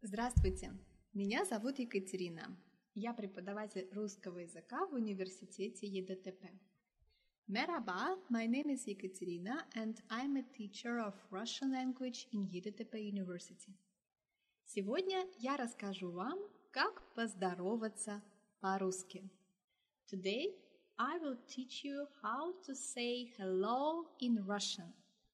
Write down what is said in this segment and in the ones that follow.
Здравствуйте, меня зовут Екатерина. Я преподаватель русского языка в университете ЕДТП. Merhaba, my name is Ekaterina and I'm a teacher of Russian language in ЕДТП University. Сегодня я расскажу вам, как поздороваться по-русски. Today I will teach you how to say hello in Russian.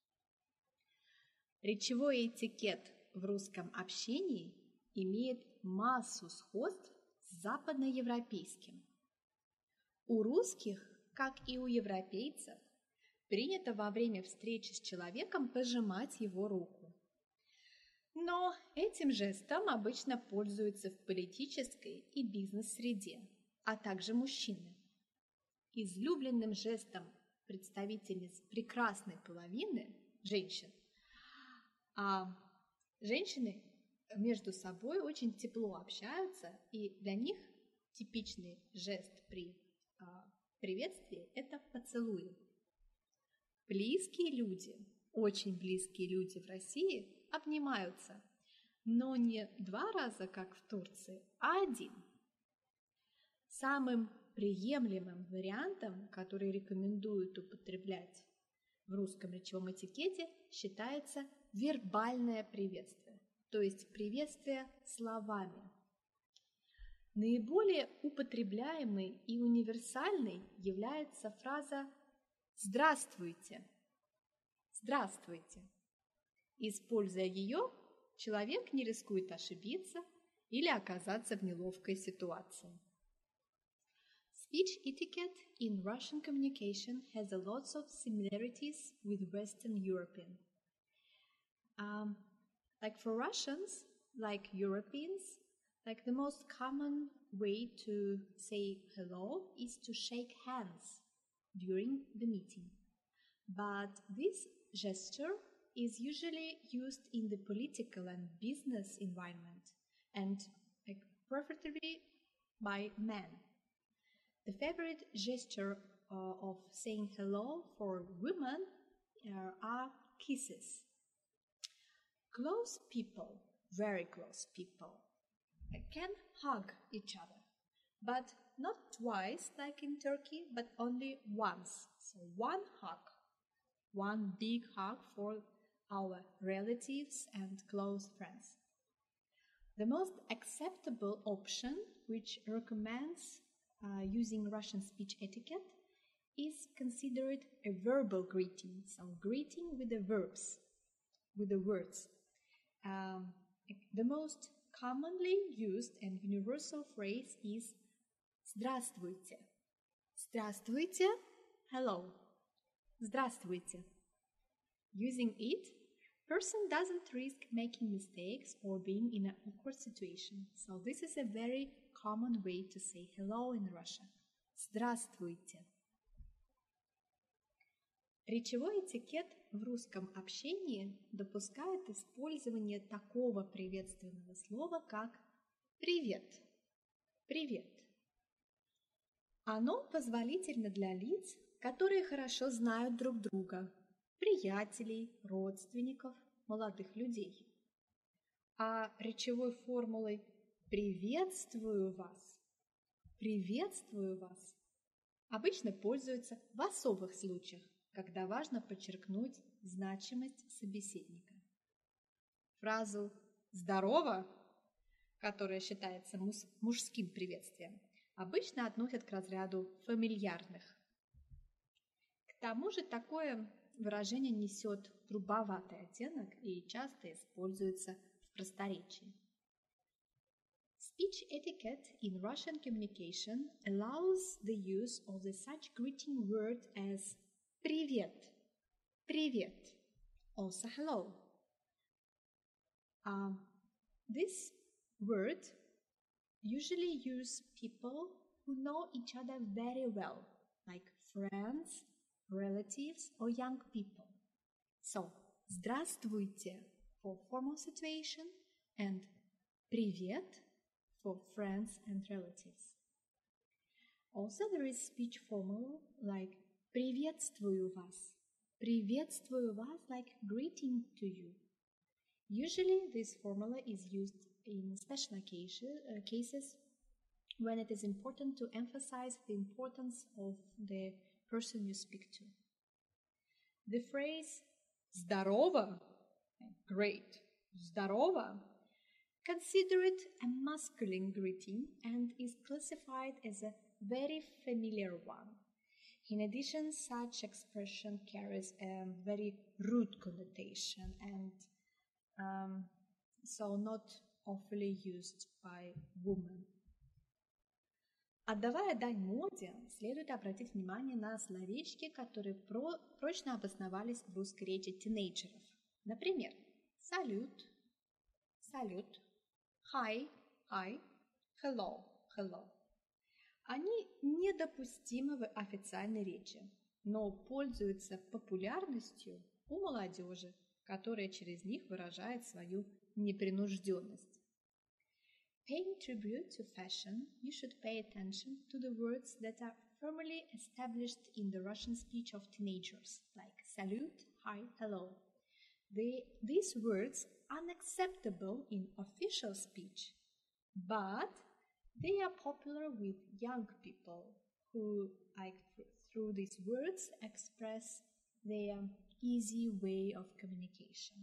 Речевой этикет в русском общении имеет массу сходств с западноевропейским. У русских, как и у европейцев, принято во время встречи с человеком пожимать его руку. Но этим жестом обычно пользуются в политической и бизнес-среде, а также мужчины. Излюбленным жестом представительниц прекрасной половины женщин, женщины между собой очень тепло общаются, и для них типичный жест при приветствии – это поцелуи. Близкие люди, очень близкие люди в России обнимаются, но не 2 раза, как в Турции, а 1. Самым приемлемым вариантом, который рекомендуют употреблять в русском речевом этикете, считается вербальное приветствие, то есть приветствие словами. Наиболее употребляемой и универсальной является фраза «Здравствуйте». «Здравствуйте». Используя ее, человек не рискует ошибиться или оказаться в неловкой ситуации. Speech etiquette in Russian communication has a lot of similarities with Western European. Like for Russians, like Europeans, like the most common way to say hello is to shake hands during the meeting. But this gesture is usually used in the political and business environment and preferably by men. The favorite gesture of saying hello for women are kisses. Close people, very close people, can hug each other, but not twice like in Turkey, but only once. So one hug, one big hug for our relatives and close friends. The most acceptable option, which recommends using Russian speech etiquette, is considered a verbal greeting, so greeting with the verbs, with the words. The most commonly used and universal phrase is «Здравствуйте». «Здравствуйте», hello. «Здравствуйте». Using it, person doesn't risk making mistakes or being in an awkward situation. So this is a very common way to say hello in Russian. Здравствуйте. Речевой этикет в русском общении допускает использование такого приветственного слова, как «привет». «Привет». Оно позволительно для лиц, которые хорошо знают друг друга, приятелей, родственников, молодых людей. А речевой формулой «приветствую вас», «приветствую вас» обычно пользуются в особых случаях, когда важно подчеркнуть значимость собеседника. Фразу «здорово», которая считается мужским приветствием, обычно относят к разряду фамильярных. К тому же такое выражение несет грубоватый оттенок и часто используется в просторечии. Speech etiquette in Russian communication allows the use of the such greeting word as «привет», «привет», also hello. This word usually use people who know each other very well, like friends, relatives or young people. So, «здравствуйте» for formal situation and «привет» for friends and relatives. Also, there is speech formula like «приветствую вас». «Приветствую вас» like greeting to you. Usually, this formula is used in special cases when it is important to emphasize the importance of the person you speak to. The phrase "Здорово," great, "Здорово," consider it a masculine greeting and is classified as a very familiar one. In addition, such expression carries a very rude connotation and so not often used by women. Отдавая дань моде, следует обратить внимание на словечки, которые прочно обосновались в русской речи тинейджеров. Например, салют, салют, hi, hi, hello, hello. Они недопустимы в официальной речи, но пользуются популярностью у молодежи, которая через них выражает свою непринужденность. Paying tribute to fashion, you should pay attention to the words that are firmly established in the Russian speech of teenagers, like salute, hi, hello. These words are unacceptable in official speech, but they are popular with young people who, through these words, express their easy way of communication.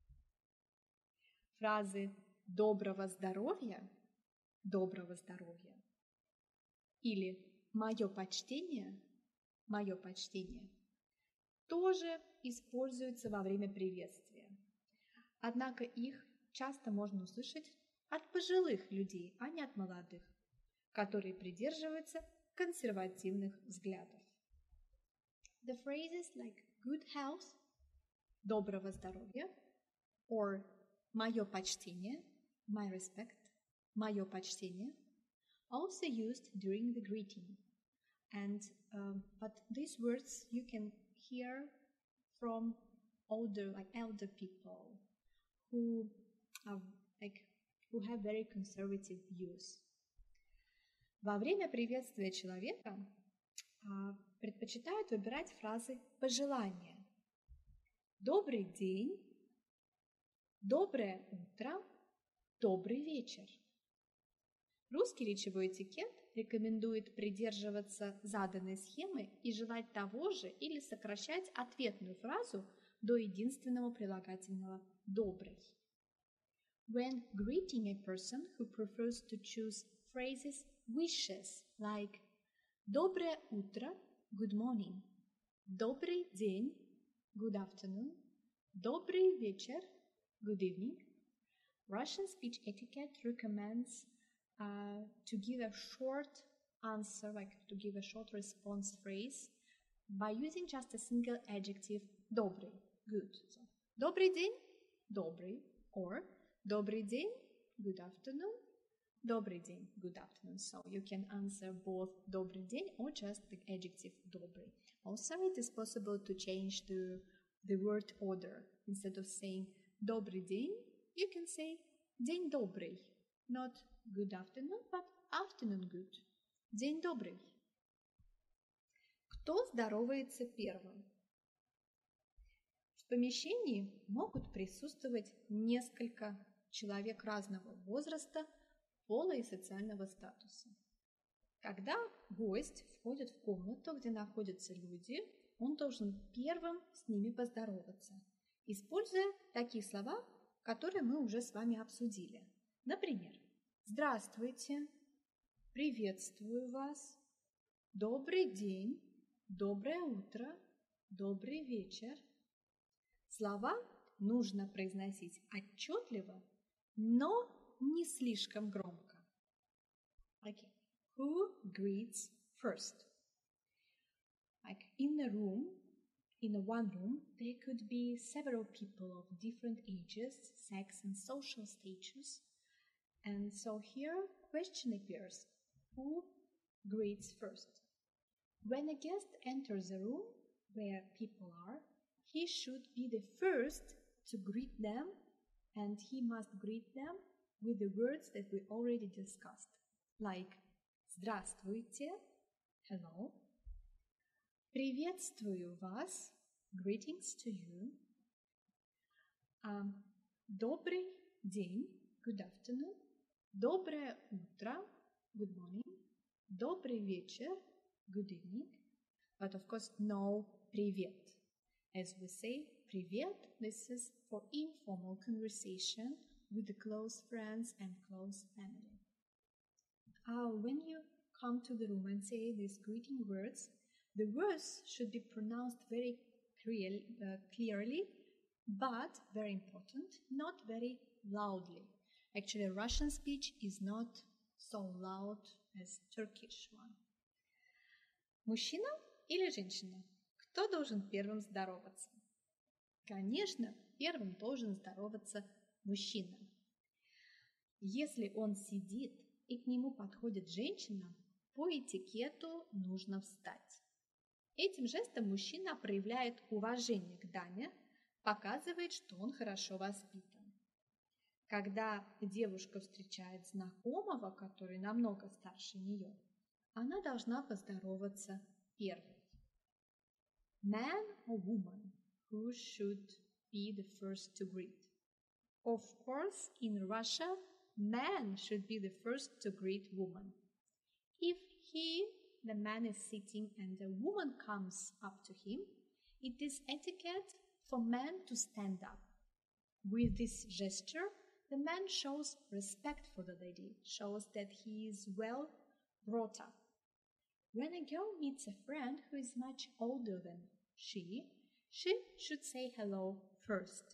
Фразы «доброго здоровья» или «моё почтение» тоже используются во время приветствия. Однако их часто можно услышать от пожилых людей, а не от молодых, которые придерживаются консервативных взглядов. The phrases like good health, доброго здоровья, or моё почтение, my respect, моё почтение, also used during the greeting. But these words you can hear from elder people who have very conservative views. Во время приветствия человека предпочитают выбирать фразы пожелания. Добрый день, доброе утро, добрый вечер. Русский речевой этикет рекомендует придерживаться заданной схемы и желать того же или сокращать ответную фразу до единственного прилагательного «добрый». When greeting a person who prefers to choose phrases wishes like «доброе утро», good morning, «добрый день», good afternoon, «добрый вечер», good evening, Russian speech etiquette recommends to give a short answer, to give a short response phrase by using just a single adjective «добрый», good. So, «добрый день», «добрый», or «добрый день», good afternoon, «добрый день», good afternoon. So you can answer both «добрый день» or just the adjective «добрый». Also, it is possible to change the word order. Instead of saying «добрый день», you can say «день добрый», not good afternoon, but afternoon good. День добрый. Кто здоровается первым? В помещении могут присутствовать несколько человек разного возраста, пола и социального статуса. Когда гость входит в комнату, где находятся люди, он должен первым с ними поздороваться, используя такие слова, которые мы уже с вами обсудили. Например, «Здравствуйте», «Приветствую вас», «Добрый день», «Доброе утро», «Добрый вечер». Слова нужно произносить отчетливо, но не слишком громко. Okay. Who greets first? Like in one room, there could be several people of different ages, sex, and social status. And so here, question appears: who greets first? When a guest enters a room where people are, he should be the first to greet them, and he must greet them with the words that we already discussed, like «Здравствуйте», hello, «Приветствую вас», greetings to you, «Добрый день», good afternoon, доброе утро, good morning, добрый вечер, good evening, but of course no привет. As we say, привет, this is for informal conversation with the close friends and close family. When you come to the room and say these greeting words, the words should be pronounced very clearly, but very important, not very loudly. Actually, Russian speech is not so loud as Turkish one. Мужчина или женщина? Кто должен первым здороваться? Конечно, первым должен здороваться мужчина. Если он сидит и к нему подходит женщина, по этикету нужно встать. Этим жестом мужчина проявляет уважение к даме, показывает, что он хорошо воспитан. Когда девушка встречает знакомого, который намного старше нее, она должна поздороваться первой. Man or woman, who should be the first to greet? Of course, in Russia, man should be the first to greet woman. If the man is sitting and a woman comes up to him, it is etiquette for man to stand up. With this gesture, the man shows respect for the lady, shows that he is well brought up. When a girl meets a friend who is much older than she should say hello first.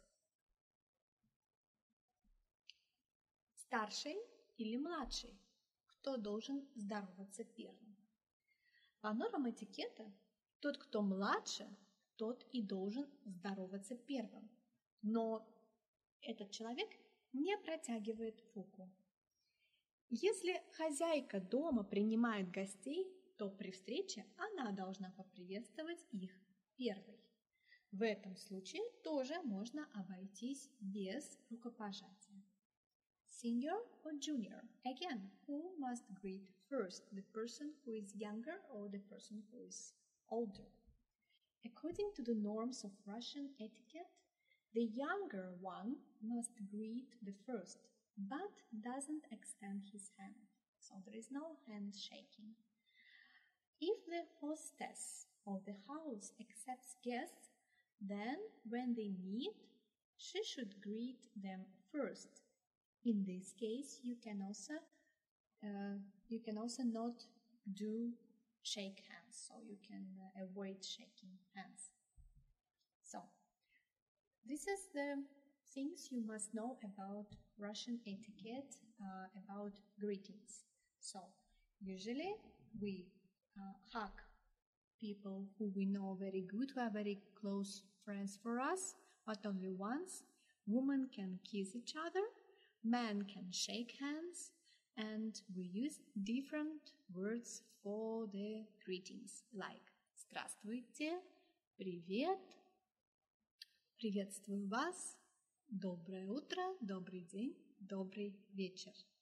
Старший или младший? Кто должен здороваться первым? По нормам этикета, тот, кто младше, тот и должен здороваться первым. Но этот человек не протягивает руку. Если хозяйка дома принимает гостей, то при встрече она должна поприветствовать их первой. В этом случае тоже можно обойтись без рукопожатия. Senior or junior? Again, who must greet first, the person who is younger or the person who is older? According to the norms of Russian etiquette, the younger one must greet the first, but doesn't extend his hand. So there is no handshaking. If the hostess of the house accepts guests, then when they meet, she should greet them first. In this case, you can also not do shake hands, so you can avoid shaking hands. So, this is the things you must know about Russian etiquette, about greetings. So, usually we hug people who we know very good, who are very close friends for us, but only once. Women can kiss each other, men can shake hands, and we use different words for the greetings, like «Здравствуйте», «Привет», «Приветствую вас», «Доброе утро», «Добрый день», «Добрый вечер».